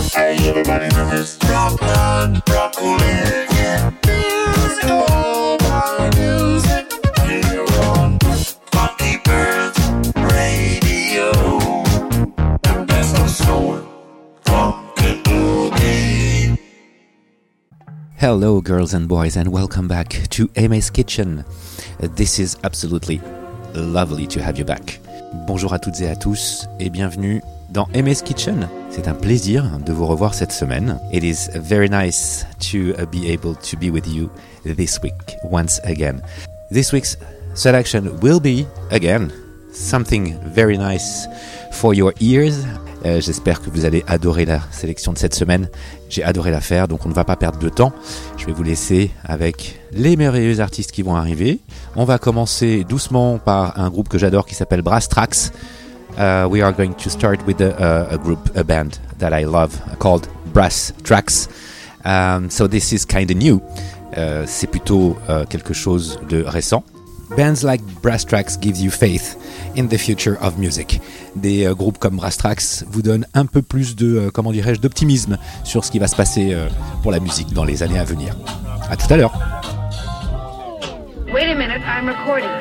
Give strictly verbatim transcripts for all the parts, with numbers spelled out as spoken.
Hey, everybody knows Rockland, Broccoli, yeah. Here's all my music here on Funky Pearls Radio. The best of soul, funky boogie. Hello girls and boys and welcome back to Aimé's Kitchen. This is absolutely lovely to have you back. Bonjour à toutes et à tous et bienvenue dans Aimé's Kitchen. C'est un plaisir de vous revoir cette semaine. It is very nice to be able to be with you this week once again. This week's selection will be, again, something very nice for your ears. Euh, j'espère que vous allez adorer la sélection de cette semaine. J'ai adoré la faire, donc on ne va pas perdre de temps. Je vais vous laisser avec les merveilleux artistes qui vont arriver. On va commencer doucement par un groupe que j'adore qui s'appelle Brass Tracks. Uh, we are going to start with a, a, a group, a band that I love called Brass Tracks. Um, so this is kind of new. Uh, c'est plutôt uh, quelque chose de récent. Bands like Brass Tracks gives you faith in the future of music. Des euh, groupes comme Brass Tracks vous donnent un peu plus de, euh, comment dirais-je, d'optimisme sur ce qui va se passer euh, pour la musique dans les années à venir. À tout à l'heure. Wait a minute, I'm recording.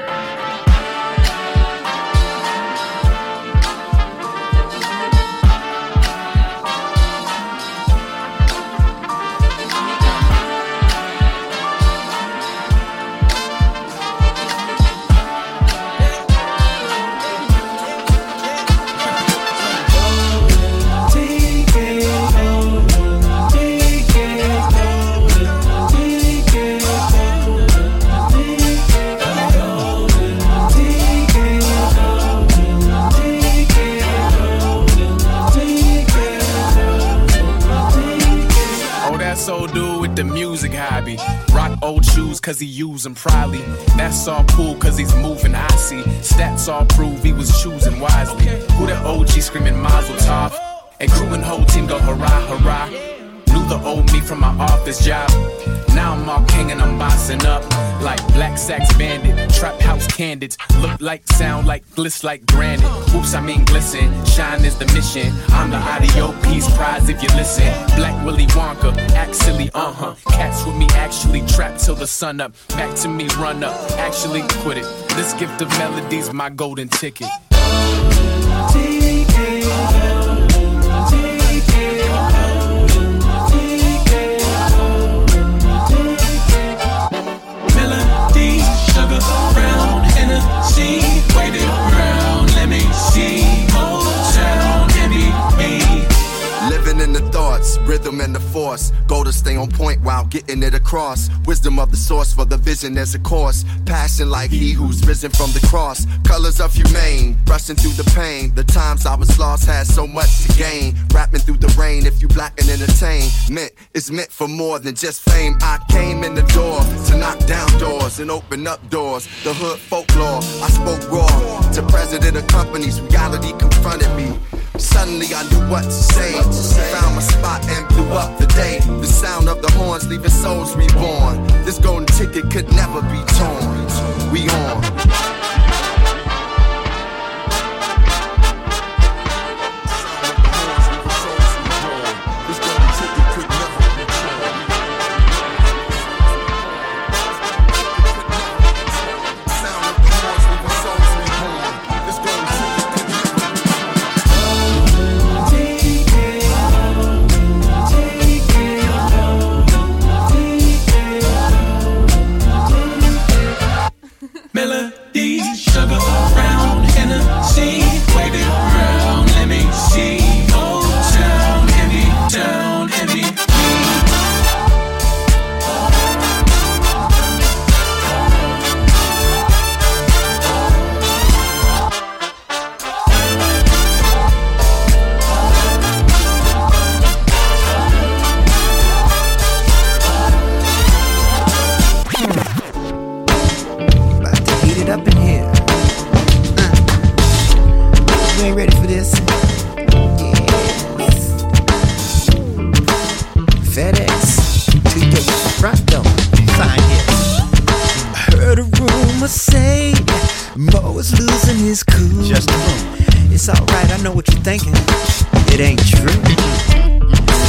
The music hobby, rock old shoes cause he use them proudly. That's all cool cause he's moving, I see. Stats all prove he was choosing wisely. Who that O G screaming Mazel Tov? And crew and whole team go hurrah, hurrah. Knew the old me from my office job. Now I'm all king and I'm bossing up. Like Black Sax Bandit, Trap House Candids. Look like, sound like, bliss like granite. Whoops, I mean glisten, shine is the mission. I'm the audio piece prize if you listen. Black Willy Wonka, act silly, uh-huh. Cats with me actually trapped till the sun up. Back to me, run up, actually quit it. This gift of melodies, my golden ticket. T K O, T K O. Brown Hennessy, waited around, let me see, Motown, M B E. Living in the thoughts, rhythm and the force. Go to stay on point while getting it across. Wisdom of the source for the vision as a course. Passion like he who's risen from the cross. Colors of humane, brushing through the pain. The times I was lost had so much to gain. Rapping through the rain, if you black and entertain. Meant, it's meant for more than just fame. I came in the door to knock down doors and open up doors. The hood folklore, I spoke raw. To president of companies, reality confronted me. Suddenly I knew what to say. Found my spot and blew up the day. The sound of the horns leaving souls reborn. This golden ticket could never be torn. We on. It's alright, I know what you're thinking. It ain't true.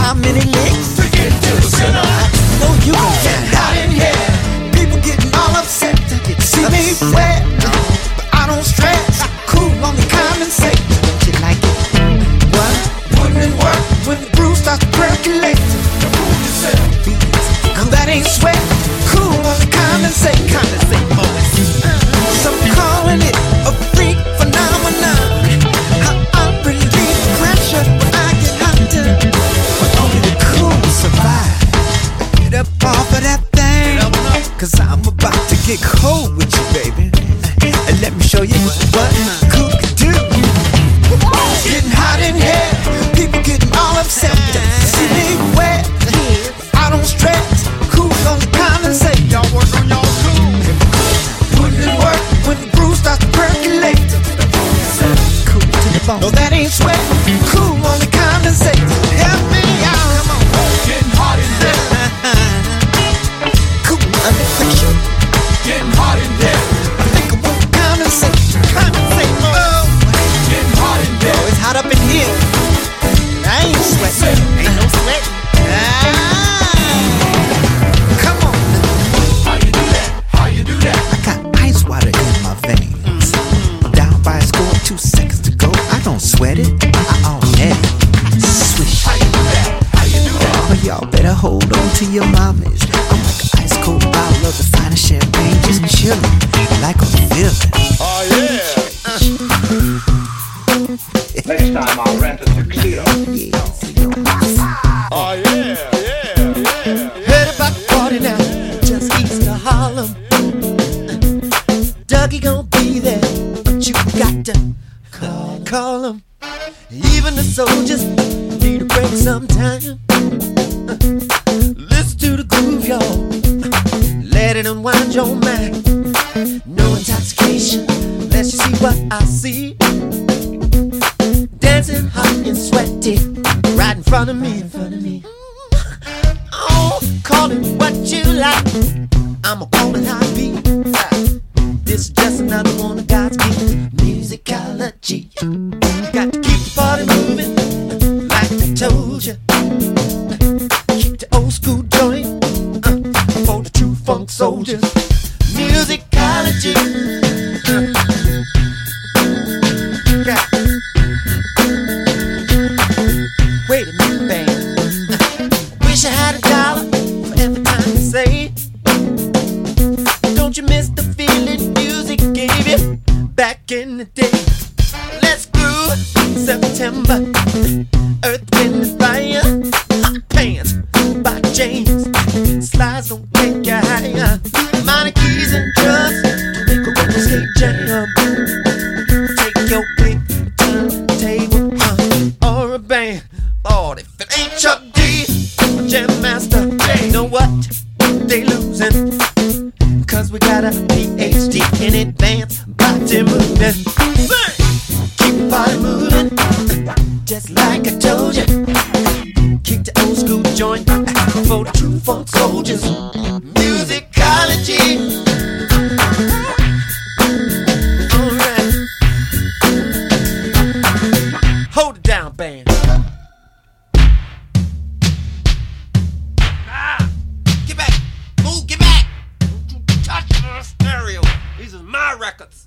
how many licks to get to the center. I know you gon' get hot in here. People getting all upset to get see me wet, but I don't stress. Cool on the common sense. Don't you like it? What? Putting in work when the brew starts to percolate. Prove yourself. Now that ain't sweat. Cool on the condensate, condensate boys. Some calling it a freak phenomenon. How I relieve pressure when I get hotter. But only the cool survive. Get up off of that thing, cause I'm about to get cold with you, baby. And let me show you what cool can do. Getting hot in here, people getting all upset. See me wet, I don't stress. Cool on the condensate, y'all work on y'all cool. Putting in work when the brew starts to percolate. Cool to the bone. No, that ain't sweat. Cool on the condensate. Help me out, come on. Getting hot in there. Cool under pressure. Getting hot in there. I think I want the condensate. Condensate, oh. Getting hot in there. Oh, it's hot up in here. I ain't sweating. Ain't no sweat. Ah. Come on. How you do that? How you do that? I got ice water in my veins. Down by a score, two seconds to go. I don't sweat it. I already swish. How you do that? How you do that? Oh, y'all better hold on to your mommies. I'm like an ice cold bottle of the finest champagne, just chillin', like I'm feeling. Oh yeah. Next time I'll rent a tuxedo. Oh yeah, yeah, yeah. Heard about the party now, just east of Harlem. Dougie gon' be there, but you got to call, call him. Even the soldiers need a break sometime. Listen to the groove, y'all. Let it unwind your mind. No intoxication, unless you see what I see. Dancing hot and sweaty, right in front of me, in front of me. Oh, call it what you like. I'ma call it how it be. This is just another one of God's gifts. Musicology. Got to keep the party moving, like I told you. Keep the old school joint uh, for the true funk soldiers. Musicology. Uh, got Wait a minute, band. Wish I had a dollar for every time you say. Don't you miss the feeling music gave you back in the day? Let's groove September. Earth, wind, and fire. Hot pants by James. Slides don't take you higher. Minor keys and drugs to make a roller skate jam. Take your pick, turntable uh, or a band. Lord, if it ain't Chuck D, Jam Master, you know what? They losing. Cause we got a P H D in advanced body movement. Keep the body moving, just like I told you. Keep the old school joint for the true funk soldiers. Musicology. Alright. Hold it down, band. Ah! Get back! Move, get back! Don't you touch the stereo. These are my records.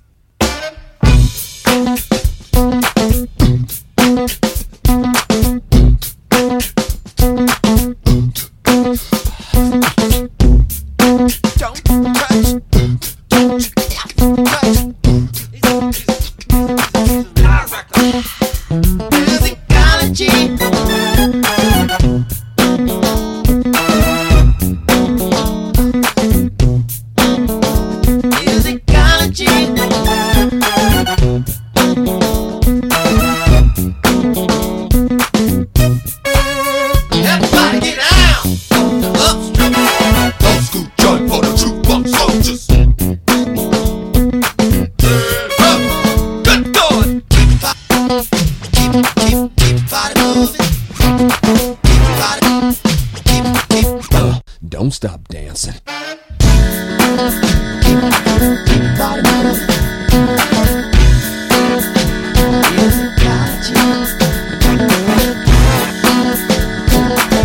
Don't touch. Don't touch. These are, these are, these are my records. Musicology. Everybody get down. Upstream. Old school joint for the true funk soldiers. Good going. Keep keep keep keep body moving. Keep body keep keep uh, Don't stop dancing. keep keep body moving. Musicology.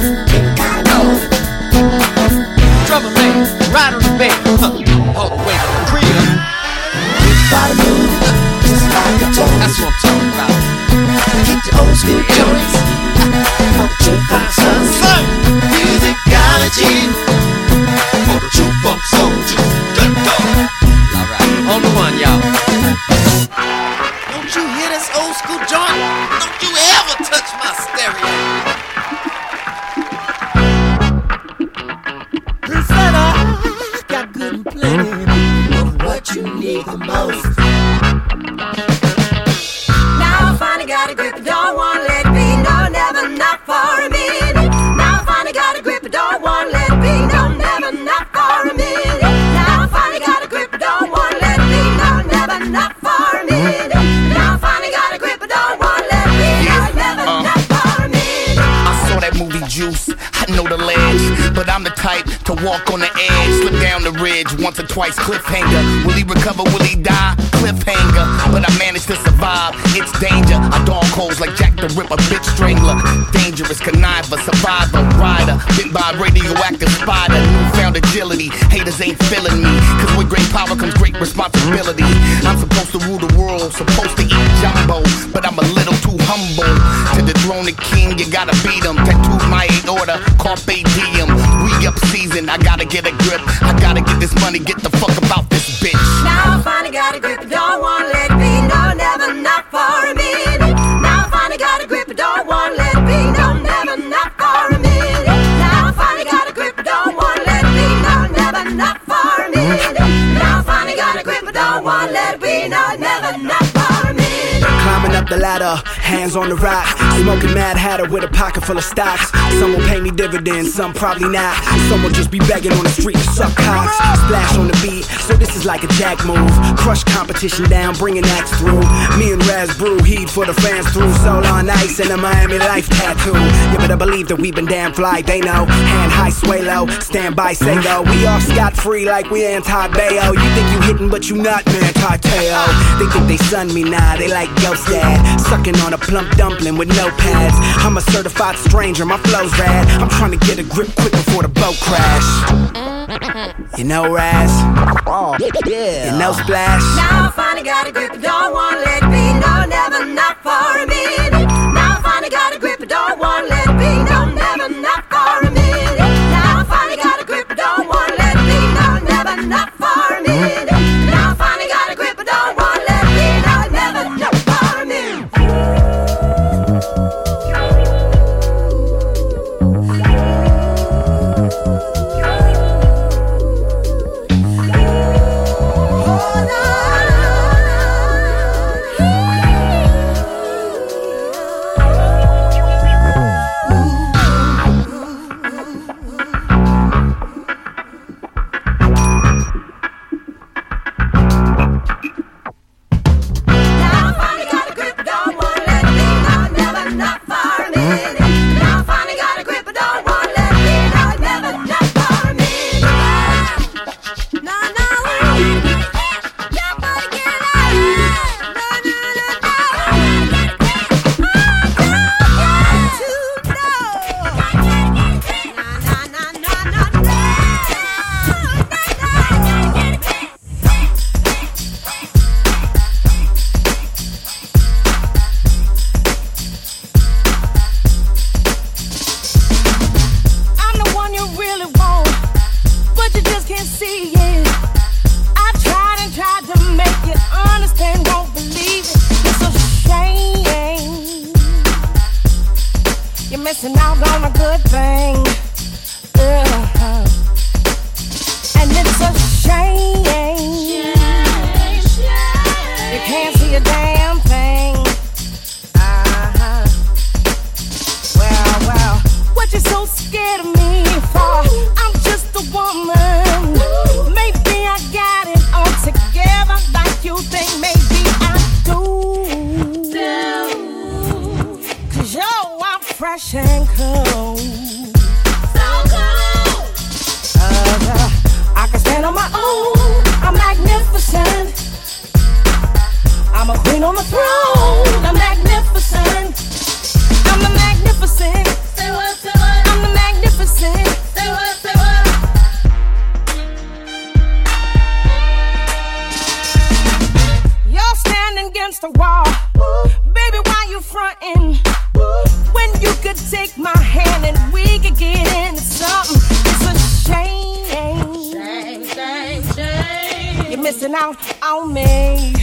movie Juice. I know the ledge, but I'm the type to walk on the edge, slip down the ridge once or twice, cliffhanger. Will he recover? Will he die? Cliffhanger. But I managed to survive. It's danger. I dog holes like Jack the Ripper, bitch strangler. Dangerous conniver, survivor, rider. Bit by a radioactive spider. Newfound agility. Haters ain't feeling me. Cause with great power comes great responsibility. I'm supposed to rule the world, supposed to eat jumbo, but I'm a little too humble. To dethrone the king, you gotta beat him. Tattooed my order, carpe diem. We up season, I gotta get a grip. I gotta get this money, get the fuck about this bitch. Now I finally got a grip, I don't wanna let it be. No, never, not for a minute. Now I finally got a grip, I don't wanna let it be. No, never, not for a minute. Now I finally got a grip, I don't wanna let it be. No, never, not for a minute. Now I finally got a grip, I don't wanna let it be. No, never, not for a minute. Climbing up the ladder, hands on the rock, smoking Mad Hatter with a pocket full of stocks. Some will pay me dividends, some probably not. Some will just be begging on the street to suck cocks. Splash on the beat, so this is like a jack move. Crush competition down, bringing acts through. Me and Raz brew, heat for the fans through. Soul on ice and a Miami life tattoo. You better believe that we've been damn fly, they know. Hand high, sway low, stand by, say go. We off scot-free like we anti-Bayo. You think you hitting, but you not, man, Tarteo. They think they sun me, nah, they like ghost dad. Sucking on a plump dumpling with no pads. I'm a certified stranger, my flow's rad. I'm trying to get a grip quick before the boat crash. You know Raz? Oh, yeah. You know Splash? Now I finally got a grip, I don't wanna let it be. No, never, not for a minute. Now I finally got a grip, I don't wanna let it be. No, never, not for a minute. Now I finally got a grip, I don't wanna let it be. No, never, not for a minute. Now I finally got a grip, I don't wanna let it be. No, never, not for a minute. Missing out on a good thing, uh-huh. And it's a shame. You can't see a damn thing. Uh-huh. Well, well, what you so scared of me for? I'm just a woman. Maybe I got it all together like you think. Maybe I do. Cause yo, I'm fresh and cold. So cold. Uh, I can stand on my own. I'm magnificent. I'm a queen on the throne. I'm magnificent. I'm the magnificent. Say what, say what? I'm the magnificent. Say what, say what? You're standing against the wall. Baby, why you frontin'? When you could take my hand and we could get into something. It's a shame. Shame, shame, shame. You're missing out on me.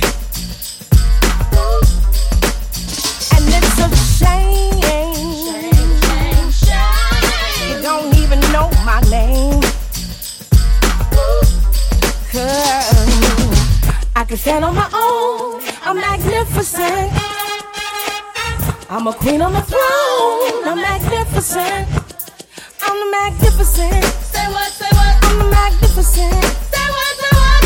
And it's a shame. Shame, shame, shame. You don't even know my name. Cause I can stand on my own. I'm magnificent. I'm a queen on the throne. I'm magnificent. I'm the magnificent. Say what, say what? I'm the magnificent. Say what, say what?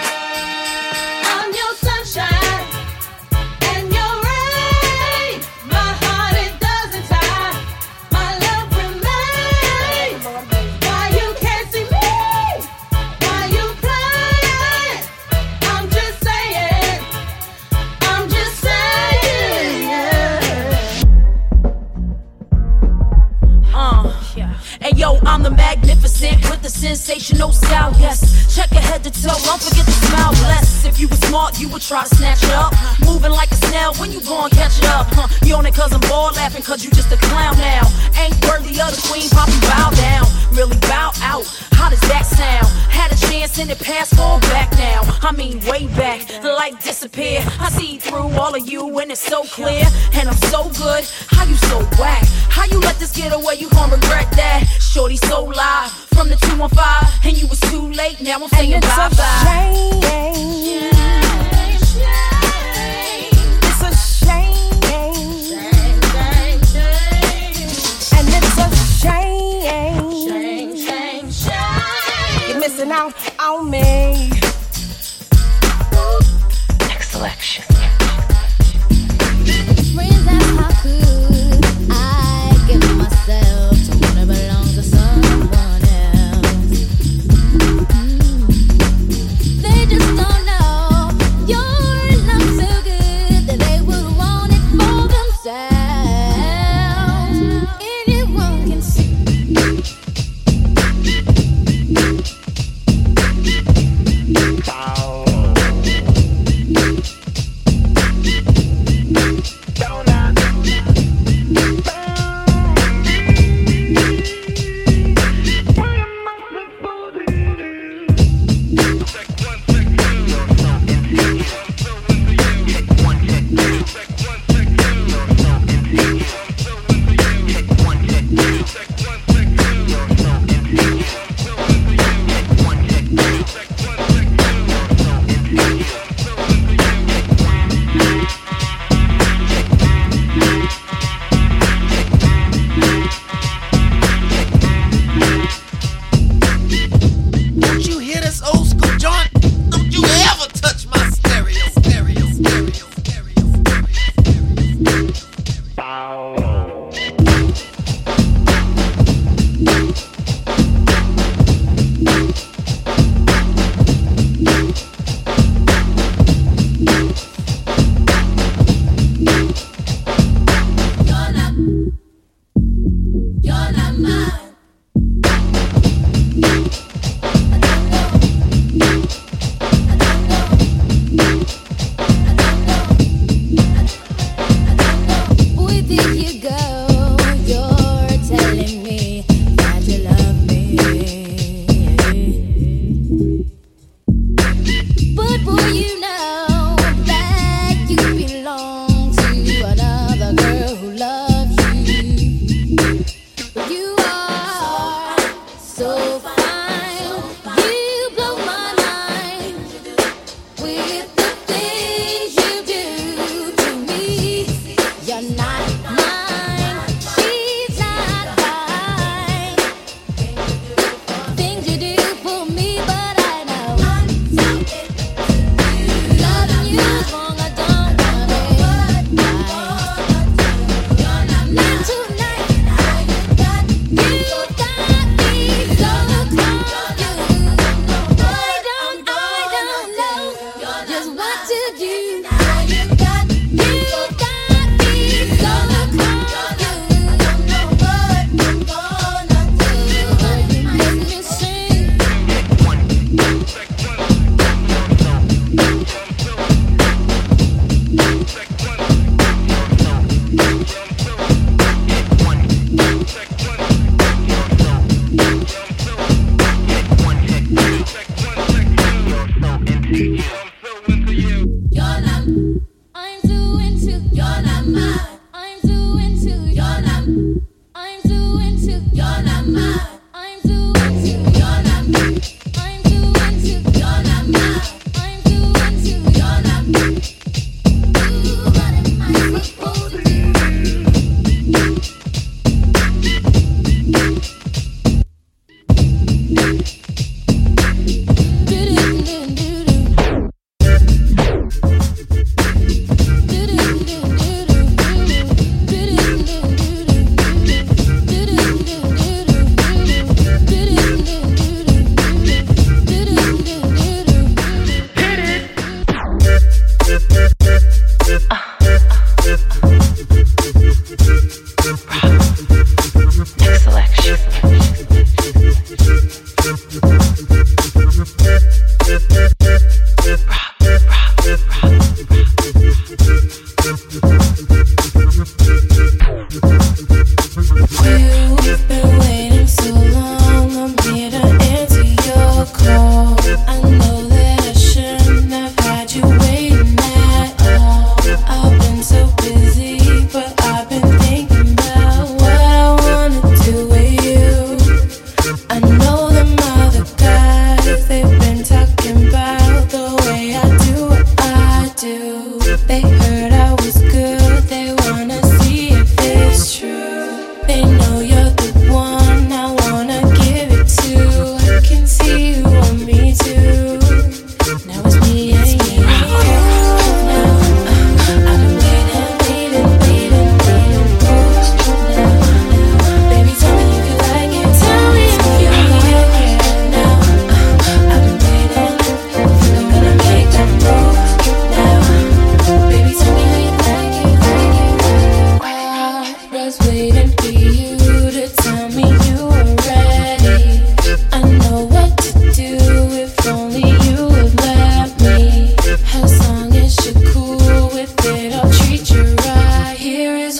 I'm your sunshine and your rain, the sensational style, yes. Check your head to toe, don't forget to smile less. If you were smart, you would try to snatch it up. Moving like a snail, when you gon' catch it up? Huh? You on it cause I'm bored, laughing cause you just a clown now. Ain't worthy of the queen, pop and bow down. Really bow out, how does that sound? Had a chance in the past, fall back now. I mean way back, the light disappear. I see through all of you and it's so clear. And I'm so good, how you so whack? How you let this get away, you gon' regret that. Shorty so live, from the two one five, and you was too late, now I'm saying bye bye. It's a shame. And it's a shame. Shame, shame, shame. You're missing out on me. Next selection. Friends, that's how could I give myself to wanna belong to someone else. Mm. They just don't know your love so good that they would want it for themselves. Anyone can see. You are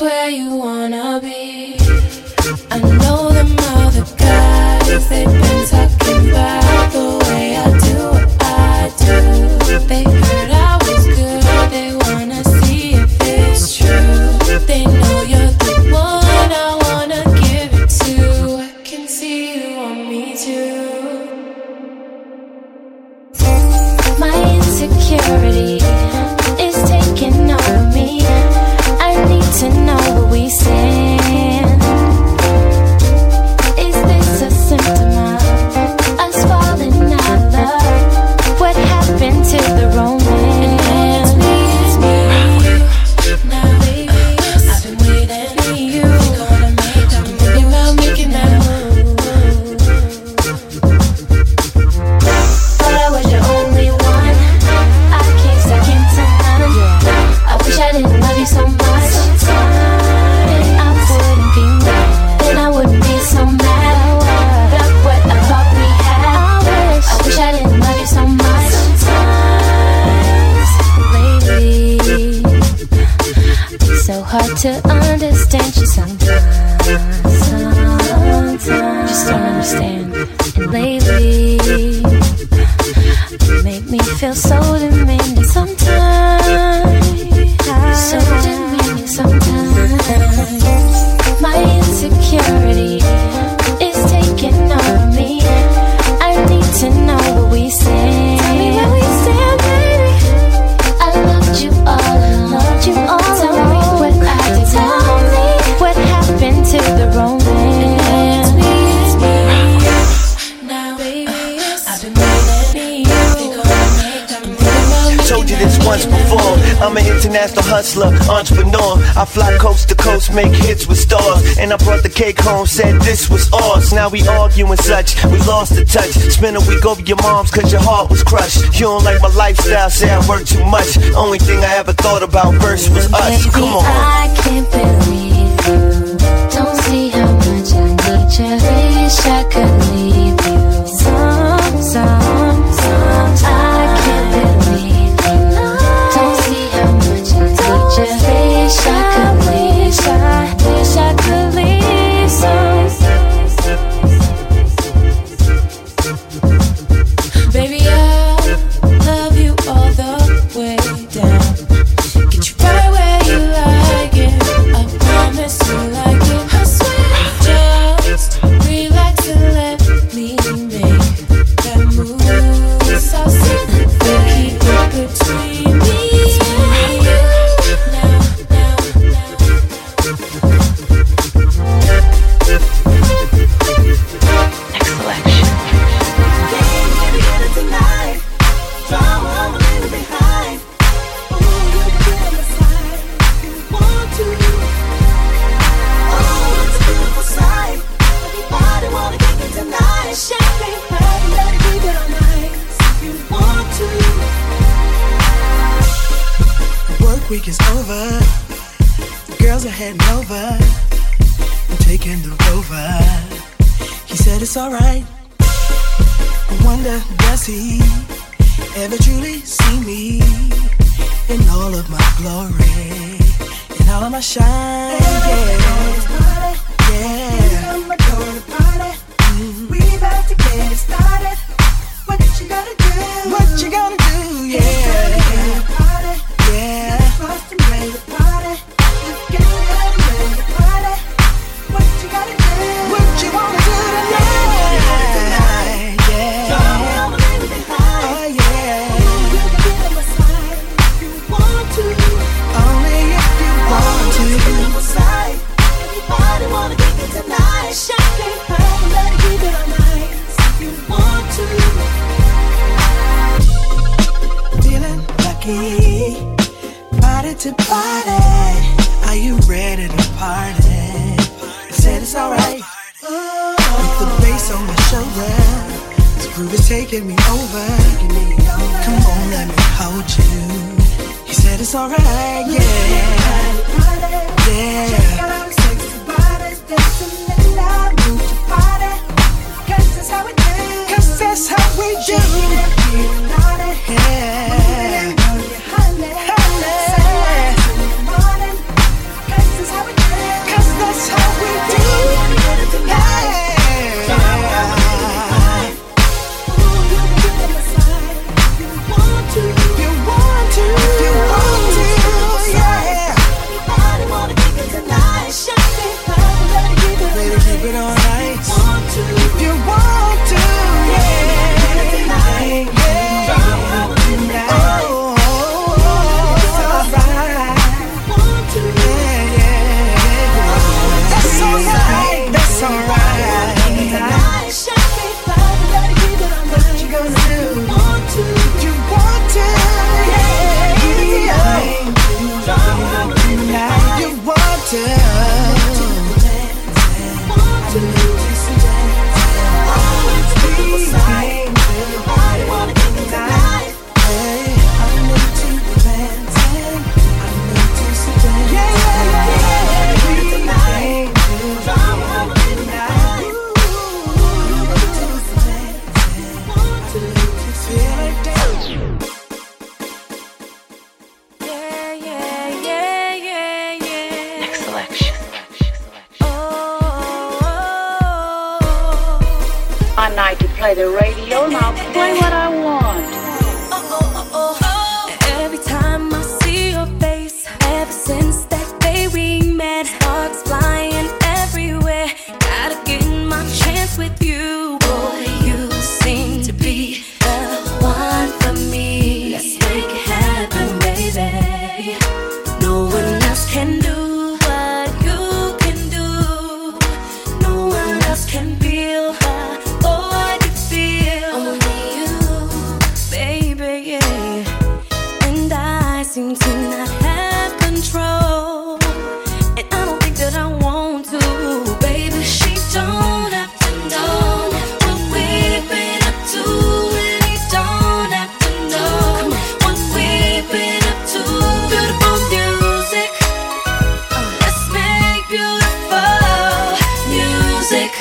where you wanna be. I know them other guys, they've been talking about the way I do what I do. They heard I was good, they wanna see if it's true. They know you're the one I wanna give it to. I can see you want me too. My insecurity is taking over me. I need to know where we stand. Is this a symptom of us falling out of love? What happened to the romance? It's me, it's me. Now baby, I've been waiting for you. We're gonna make that move. Thinking about making that move. Thought I was your only one. I came second to none. I wish I didn't love you so much. Then I wouldn't be mad. Then I wouldn't be so mad. Got what I thought we had. I wish I didn't love you so much. Lately, it's so hard to understand you sometimes. Sometimes, just don't understand. And lately, you make me feel so demanding sometimes. So demanding sometimes. My insecurity is taking over me. I need to know where we stand. Tell me where we stand, baby. I loved you all along. Loved you all Tell along. me what I did Tell me what happened to the romance. It's me, it's me. Now, baby, I've been waiting for you. They're gonna make that move. Told you this once before. I'm an international hustler, entrepreneur. I fly coast to coast, make hits with stars. And I brought the cake home, said this was ours. Now we arguing such, we lost the touch. Spent a week over your mom's cause your heart was crushed. You don't like my lifestyle, say I work too much. Only thing I ever thought about first was us. Baby, Come on. I can't believe you. Don't see how much I need you. Wish I could leave you. Some, some, some. I can't believe you. Don't see how much I need you. Wish I could leave. I wish I could leave. Some. Baby, I love you all the way down. Get you right where you like it. I promise you like it. I swear, just relax and let me make that move. So simple, keep it between me and you. Now, now, Next selection. Tonight, drama, I'm a little behind. Ooh, you can get on the side if you want to. Oh, it's a beautiful sight. Everybody wanna kick it tonight. Champagne party, let it keep it all night if you want to. The work week is over. The girls are heading over. I'm taking the Rover. He said it's alright. I wonder, does he ever truly see me in all of my glory, in all of my shine? Yeah, yeah. I'm going to party. Mm. We about to get it started. What you gonna do? What you gonna do? Yeah, yeah. Party. Yeah. First and ready to party. Let's get ready to party. What you gotta do? What you wanna do tonight? Yeah. I'm a little behind. Oh yeah. You can get on my side if you want to. Only if you want to. On my side. Everybody wanna kick it tonight. Champagne party, let it keep it all night if you want to. Feeling lucky, party to party. Are you ready to party? I said it's alright. With the bass on my shoulder, this groove is taking me over. Come on, let me hold you. He said it's alright, yeah, yeah. Check out our sexy bodies, dancing in love, move your body. 'Cause that's how we do. 'Cause that's how we do. Yeah. Honey, honey. That's how we do. play the radio, now play what I want. Every time I see your face, ever since that day we met, sparks flying everywhere. Gotta get my chance with you, boy. You seem to be the one for me. Let's make it happen, baby. No one else can do what you can do. No one else can feel what you feel. Only you, baby, yeah. And I seem to not have control, and I don't think that I want to. Baby, she don't have to know what we've been up to, and he don't have to know what we've been up to. Beautiful music, let's make beautiful music.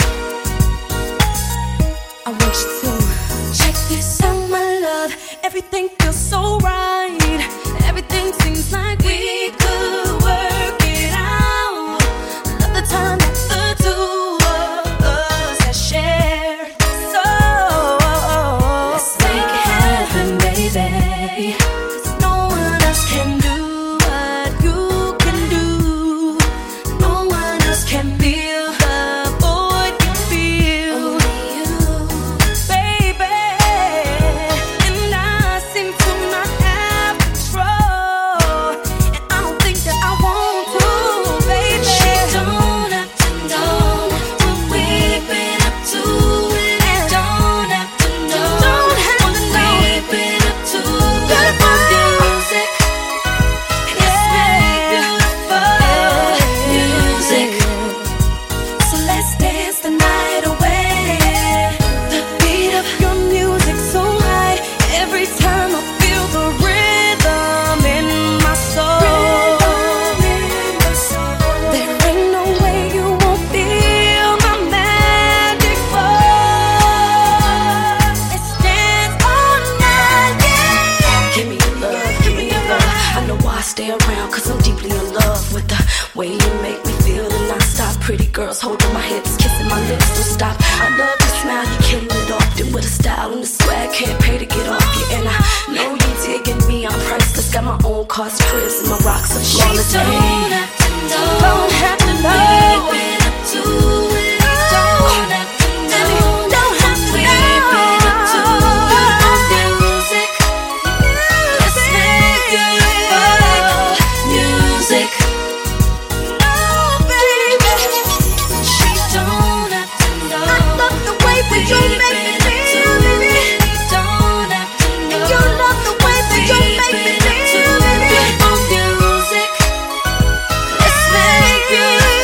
I want you to check this out, my love. Everything feels so right. Everything seems like we could work it out. Love the time that the two of us have shared. So let's make it happen, baby. 'Cause no one else can do what you can do. No one else can feel the void you feel. Only you, baby. And I seem to not have control, and I don't think that I want to, baby. She don't have to know what we've been up to, and I don't have to know what we've been up to. Beautiful music, let's make beautiful music. So let's dance the night away. The beat of your music so high. Every time I feel the rhythm in my soul. There ain't no way you won't feel my magic force. Let's dance all night, yeah. Give me your love, give me your love. I know why I stay around, cause I'm deeply in love with the way you make me feel. And I stop, pretty girls holding my hips, kissing my lips, don't stop. I love your smile, you killing it off. Then with a style and the swag, can't pay to get off you. And I know you digging me, I'm priceless. Got my own cars, cribs, and my rocks are flawless. She don't have to know, don't have to know what we've been up to, and he don't have to know, don't have to know what we've been up to. Beautiful music, let's make beautiful music. No, baby, she don't have to know. I love the way that you make me feel, baby. He don't have to know. And you love the way that you make me feel, baby. Beautiful music, let's make beautiful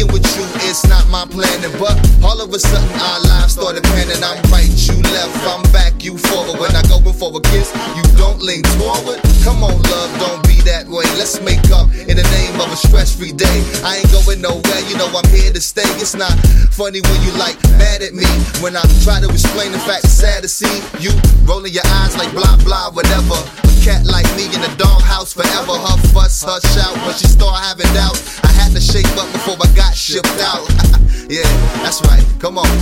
being with you is not my planning, but all of a sudden our lives started panning. I'm right, you left, I'm back, you forward. When I go in for a kiss, you don't lean forward. Come on, love, don't be that way. Let's make up in the name of a stress-free day. I ain't going nowhere, you know I'm here to stay. It's not funny when you like mad at me, when I try to explain the fact it's sad to see you rolling your eyes like blah blah whatever. A cat like me in the doghouse forever. Her fuss, her shout, when she start having doubt, I had to shape up before I got shipped out. Yeah, that's right, come on.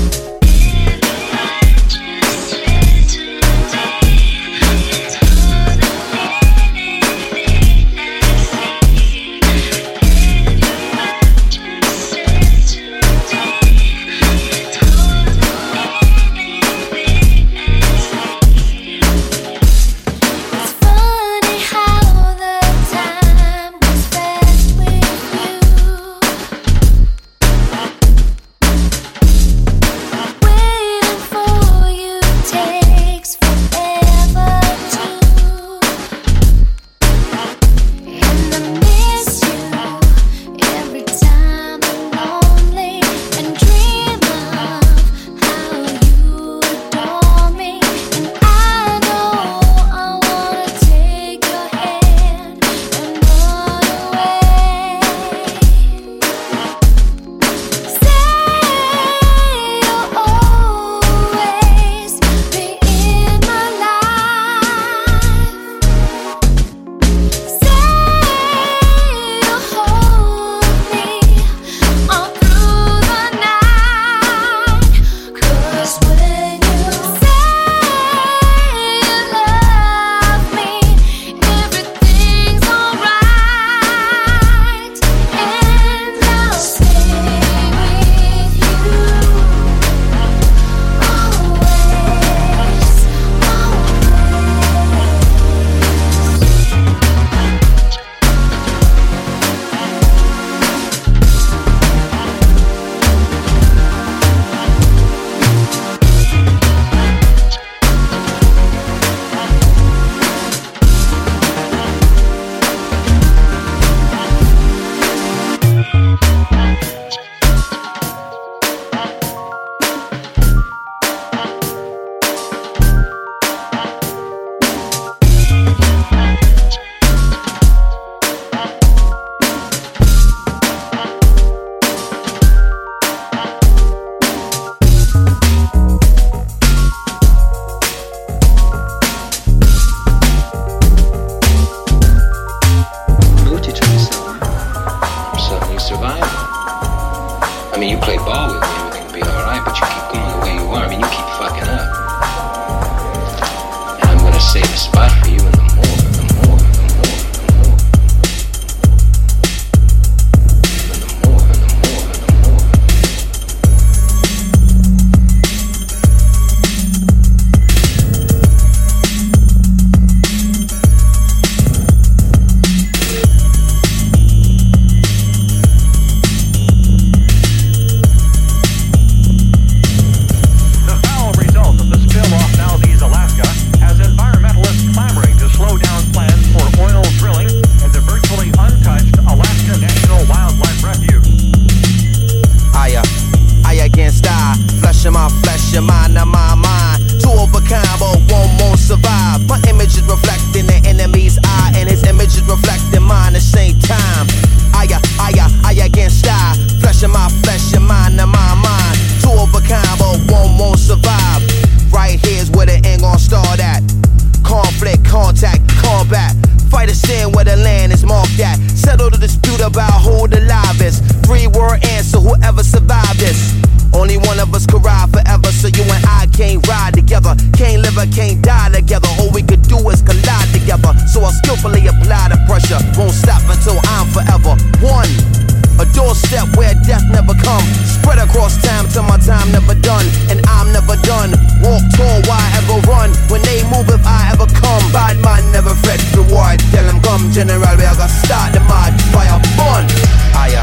General, we are gonna start the mad fire burn. Aya,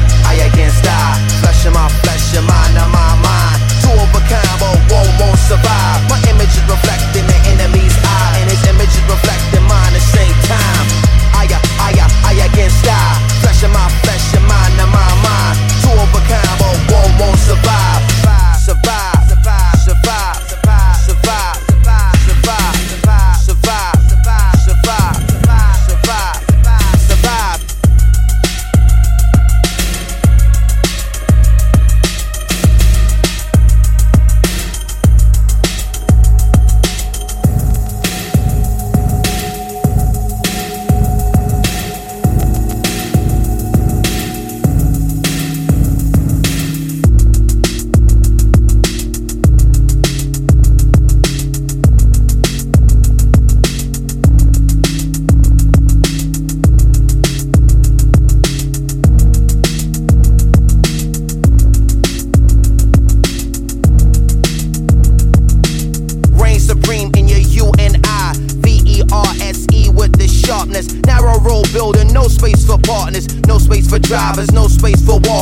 I against die. Flesh in my flesh, your mind and my mind. Two of a kind, but one won't survive. My image is reflecting the enemy's eye, and his image is reflecting mine at the same time. Aya, aya, I against die. Flesh in my flesh, your mind and my mind. Two of a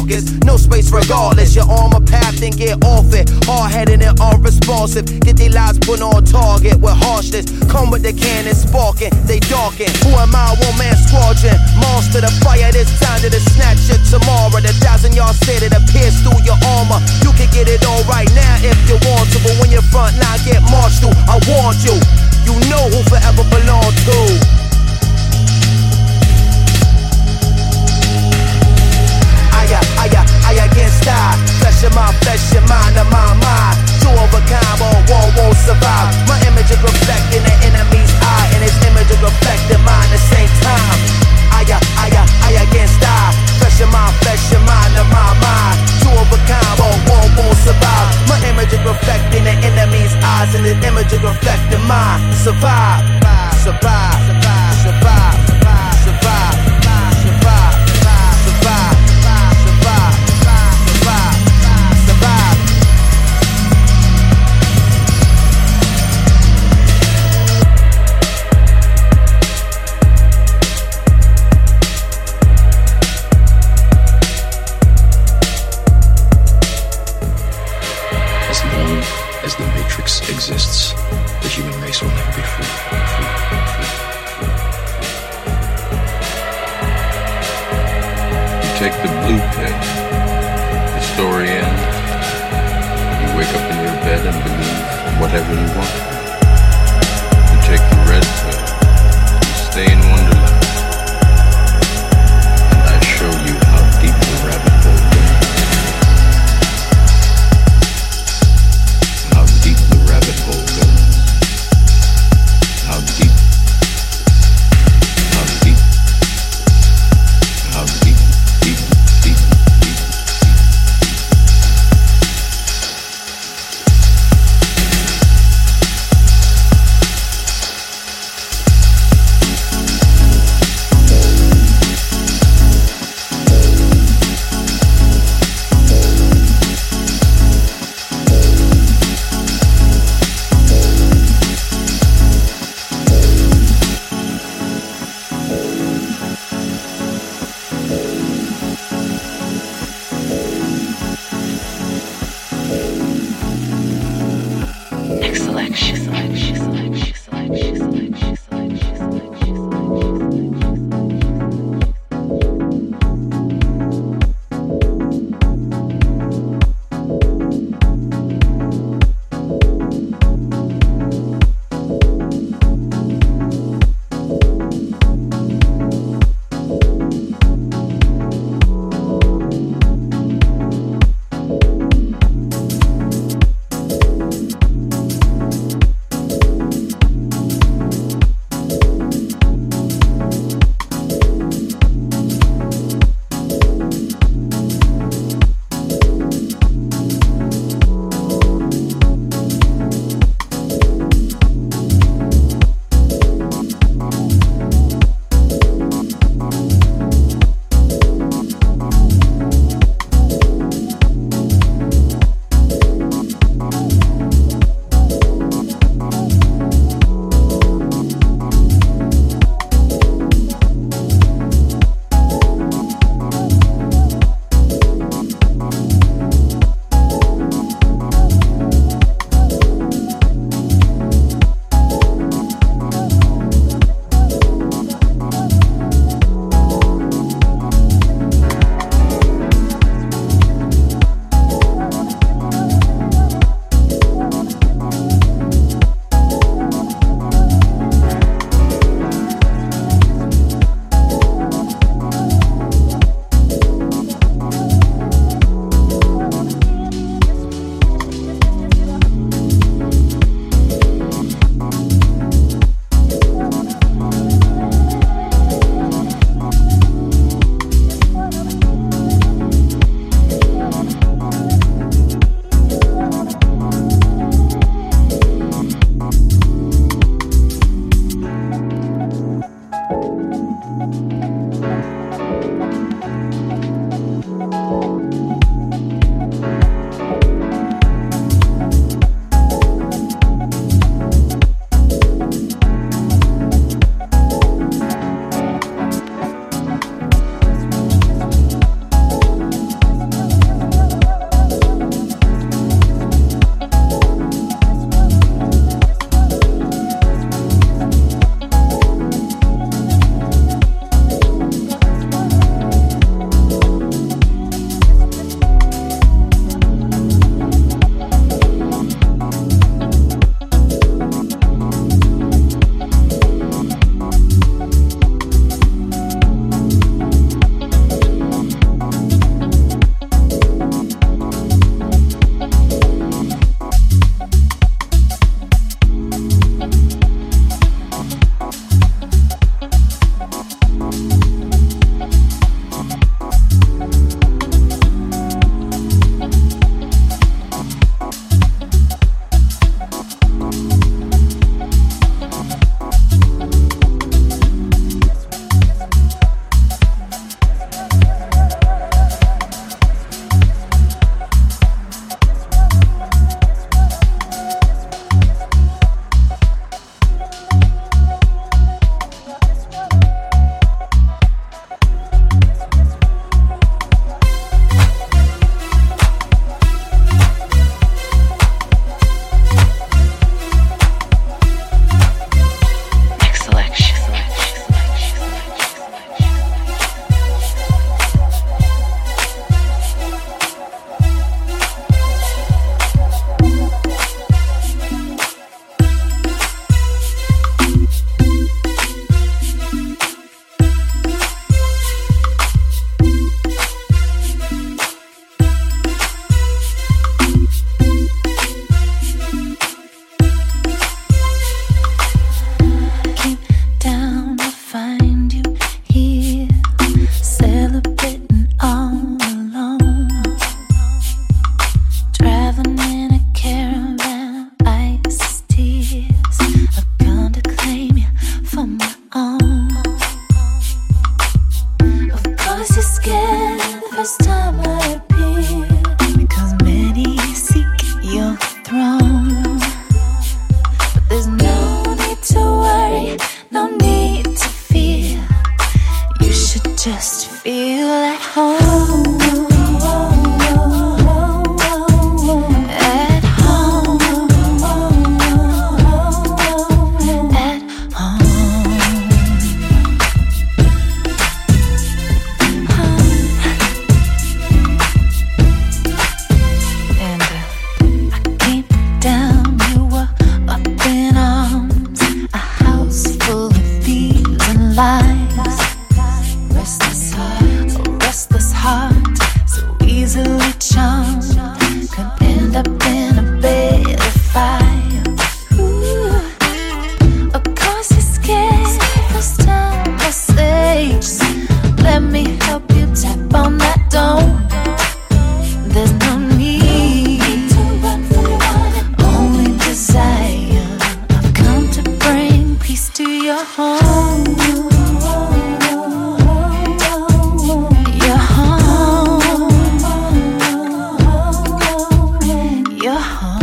carcass. No space regardless. You're on my path, then get off it. Hard-headed and unresponsive. Get their lives put on target with harshness. Come with the cannon sparking, they darken. Who am I? One man squadron. Monster the fire, this time to the snatch it tomorrow. The thousand yard set it appears through your armor. You can get it all right now if you want to, but when your front line get marched through, I warned you. You know who forever belong to. Aya, aya, aya against I. Flesh of my flesh, your mind of my mind. Two of a kind, but one won't survive. My image is reflecting the enemy's eye, and his image is reflecting mine at the same time. Aya, aya, aya against I. Flesh of my flesh, your mind of my mind. Two of a kind, but one won't survive. My image is reflecting the enemy's eyes, and his image is reflecting mine. Survive, survive, survive, survive, survive, survive, survive, survive, survive, survive, survive. As long as the Matrix exists, the human race will never be free. free, free, free. You take the blue pill, the story ends. You wake up in your bed and believe whatever you want. You take the red pill, you stay in Wonderland, and I show you how deep the rabbit hole goes. How deep the rabbit hole goes. How deep. How deep. How deep, deep, deep, deep. charm could end up in a bed of fire. Ooh, of course you're scared. First time I say, just let me help you tap on that door. There's no need to run from one, only desire. I've come to bring peace to your home. Your home. Your home.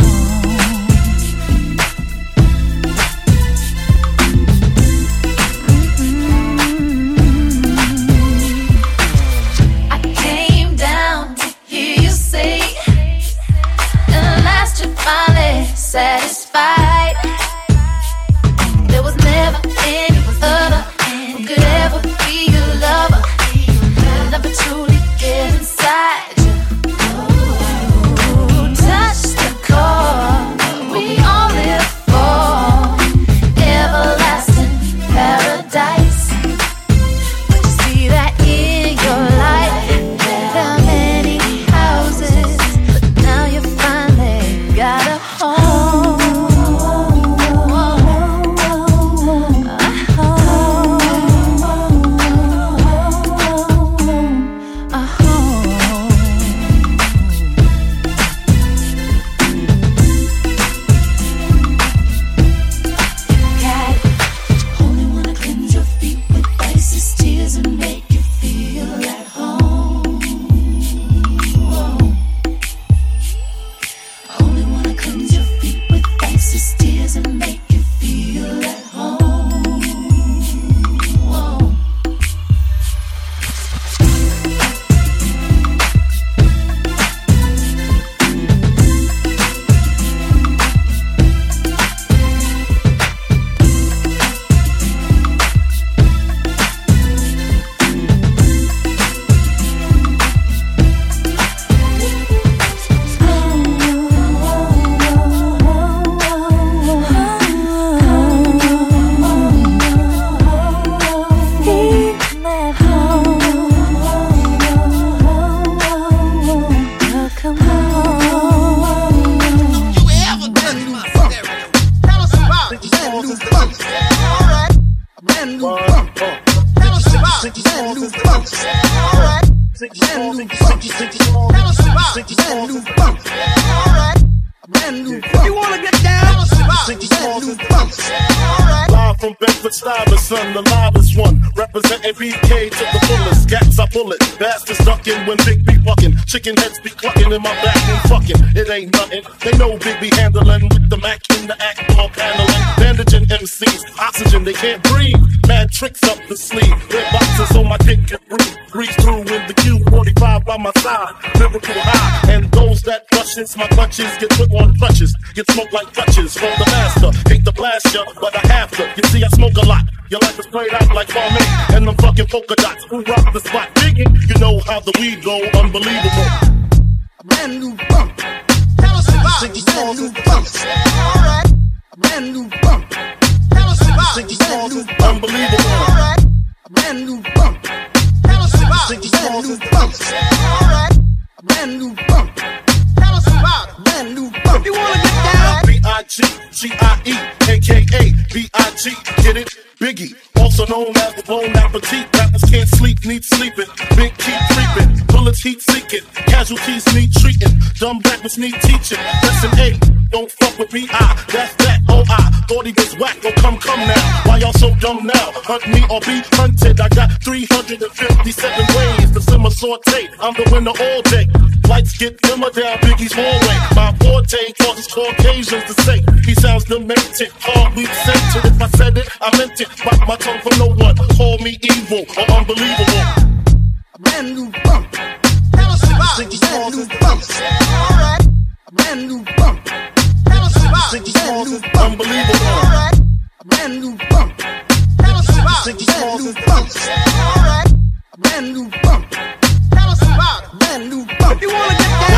I came down to hear you say, at last you're finally satisfied. There was never any other who could ever be your lover. Could never truly get inside you. Ooh, touch the core we all live for, everlasting paradise. But you see that in your life, there are many houses, but now you finally got a home. A home. Got it. Only wanna cleanse your feet with ices, tears, and make you feel at home. Whoa. Only wanna cleanse your feet with ices, tears, and make you feel at home. Whoa. You wanna get down? Live from Bedford-Stuyvesant, the loudest one, representing B K to the fullest. Gats I pull it, bastards ducking when Big B fucking. Chicken heads be clucking in my back and fucking. It ain't nothing. They know Big B handling with the Mac in the act, all paneling. Bandaging M Cs, oxygen they can't breathe. Mad tricks up the sleeve. Red boxes on my dick can breathe. Breeze through with the Q forty-five by my side. Lyrical high, and those that rushes my clutches get put on crutches. Get smoked like Dutches from the master. Hate to blast ya, but I have to. You see, I smoke a lot. Your life is played out like Farming and them fucking polka dots. Who rock the spot? Digging, you know how the weed go. Unbelievable. A brand new bump. Tell us about it. Brand new bump. Alright. A brand new bump. Tell us about it. Brand new bump. Unbelievable. Alright. A brand new bump. Tell us about it. Brand new bump. Alright. A brand new bump. Tell us about it. Brand new bump. You wanna get down? B I G G I E, A K A B I G, get it? Biggie, also known as the Bon Appetit. Rappers can't sleep, need sleeping. Big keep creeping, bullets heat seeking. Casualties need treating. Dumb rappers need teaching. Lesson eight, don't fuck with me. I, that's that. Oh, I thought he was whack. Oh, come, come now. Why y'all so dumb now? Hunt me or be hunted. I got three hundred fifty-seven ways to simmer saute. I'm the winner all day. Lights get dimmer down Biggie's hallway. My forte causes Caucasians to say he sounds demented. Hard weak scented. If I said it, I meant it. Bite my tongue for no one. Call me evil or unbelievable. A brand new bump. Tell us about it. Brand new bump. Alright. A brand new bump. Tell us about it. Brand new bump. Unbelievable. Alright. A brand new bump. Tell us about it. Brand new bump. Alright. A brand new bump. Tell us about it. Brand new bump. You wanna get down? One shot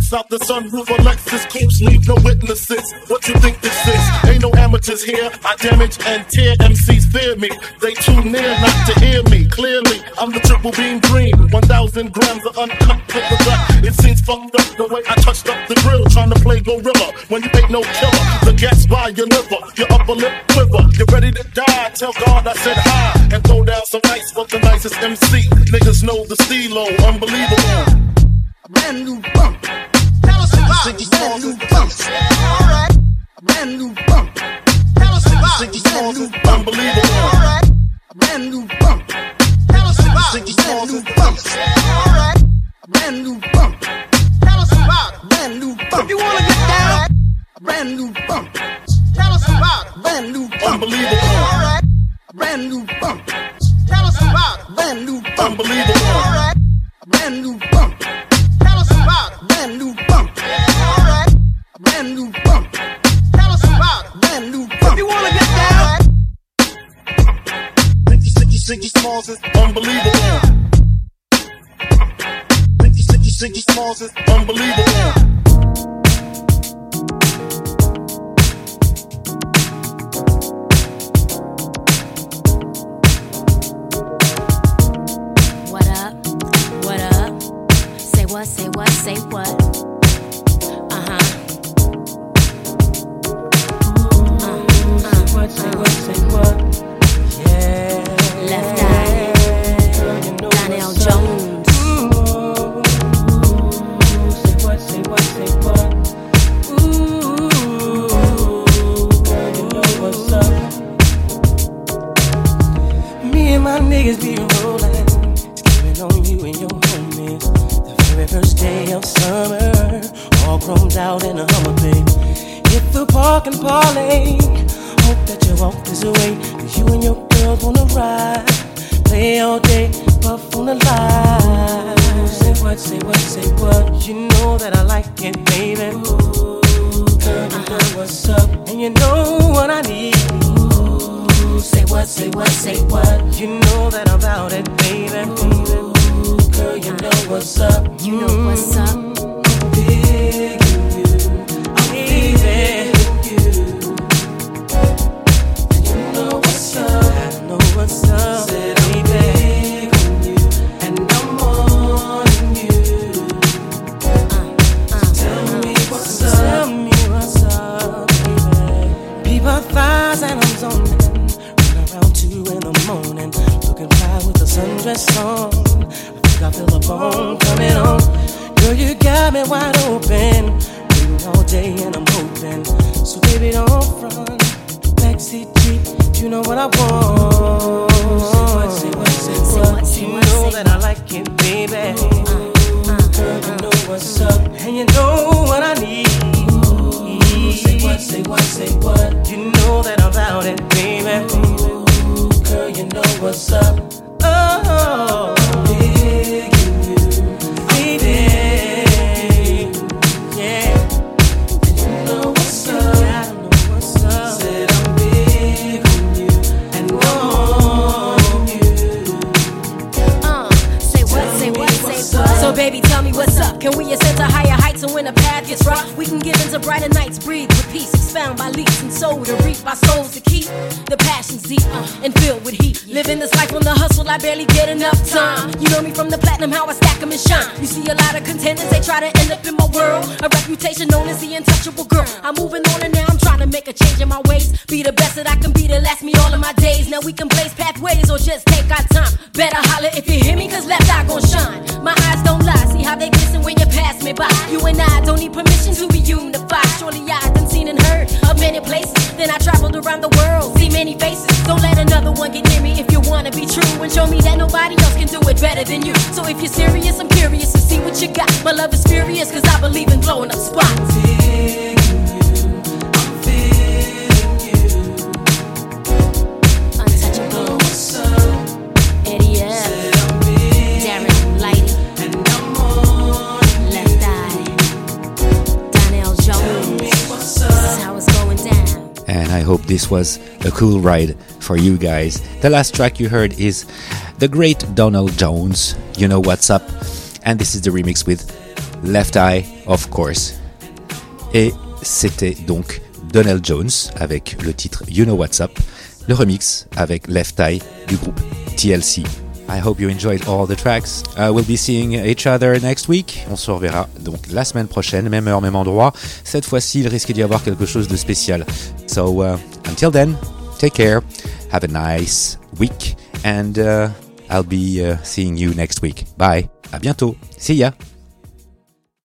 Peace out the sunroof, Alexis Coops, leave no witnesses. What you think this is? Ain't no amateurs here. I damage and tear, M Cs fear me. They too near not to hear me. Clearly, I'm the triple beam dream. one thousand grams of uncut with the gut. It seems fucked up the way I touched up the grill, trying to play gorilla when you ain't no killer. The gas by your liver, your upper lip quiver. You're ready to die, tell God I said hi. And throw down some ice for the nicest M C. Niggas know the stilo, unbelievable. A brand new bump. Tell us about it. Brand new bump. Alright. A brand new bump. Tell us about it. Brand new bump. Unbelievable. Alright. A brand new bump. Tell us about it. Brand new bump. Alright. A brand new bump. Tell us about it. Brand new bump. If you wanna get down, a brand new bump. Tell us about it. Brand new bump. Unbelievable. Alright. A brand new bump. Tell us about it. Brand new bump. Unbelievable. Alright. A brand new bump. Tell us about it. Brand new bump. Alright. A brand new bump. Tell us about it. Brand new bump. If you wanna get down, Ricky, Ricky, Ricky Smalls is unbelievable. Ricky, Ricky, Ricky Smalls is unbelievable. What up? What up? Say what? Say what? Say what? Uh huh. Uh, uh, Say what? Say what? Say what? Yeah. Left Eye. Donnell Jones. Say what? Say what? Say what? Ooh, girl, you know what's up. Me and my niggas be rolling, scheming on you and your homies. The very first day of summer, all chromed out in a Hummer, baby. Hit the park and parlay. Hope that you walk this way, 'cause you and your girls wanna ride. Play all day, puff on the line. Say what, say what, say what. You know that I like it, baby. Ooh, girl, you know what's up, and you know what I need. Ooh, say what, say what, say what. You know that I'm about it, baby. Ooh, girl, you know what's up. You know what's up. I'm digging you, I'm digging you. And you know what's up, I know what's up. Said I'm digging you, and I'm wanting you. Uh, uh, tell me what's up, tell me what's up, baby. People thighs and I'm zoning. Around two in the morning, looking fly with the sundress on. I think I feel a bone coming on. Girl, you got me wide open, waiting all day and I'm hoping. So baby, don't front, backseat Jeep, you know what I want. Say what, say what, say what. You know that I like it, baby. Girl, you know what's up, and you know what I need. Say what, say what, say what. You know that I'm about it, baby. Girl, you know what's up. Oh, I'm digging you, baby. Yeah, and you know what's up. I know what's up. Said I'm big on you, and on you. Uh, say what? Say what? Say what? So baby, tell me what's up. Can we ascend to higher heights, and when the path gets rough, we can get into brighter nights, breathe with peace, expound by leaps and soul to reap our souls to keep the passions deep uh, and filled with heat. Living this life on the hustle, I barely get enough time. You know me from the platinum, how I stack them and shine. You see a lot of contenders, they try to end up in my world. A reputation known as the untouchable girl. I'm moving on and now I'm trying to make a change in my ways. Be the best that I can be to last me all of my days. Now we can blaze pathways or just take our time. Better holler if you hear me, 'cause left eye gon' shine. My eyes don't lie, see how they glisten when you pass me by. You and I don't need permission to be unified. Surely I done seen and heard of many places. Then I traveled around the world, see many faces. Don't let another one get near me if you wanna be true, and show me that nobody else can do it better than you. So if you're serious, I'm curious to see what you got. My love is furious, 'cause I believe in blowing up spots. Untouchable. Eddie F. Darren Lighty. Left Eye. Donnell Jones. This is how it's going down. And I hope this was a cool ride for you guys. The last track you heard is the great Donald Jones, You Know What's Up, and this is the remix with Left Eye, of course. Et c'était donc Donell Jones avec le titre You Know What's Up, le remix avec Left Eye du groupe T L C. I hope you enjoyed all the tracks. Uh, we'll be seeing each other next week. On se reverra donc la semaine prochaine, même heure, même endroit. Cette fois-ci, il risque d'y avoir quelque chose de spécial. So, uh, until then, take care, have a nice week, and uh, I'll be uh, seeing you next week. Bye, à bientôt, see ya.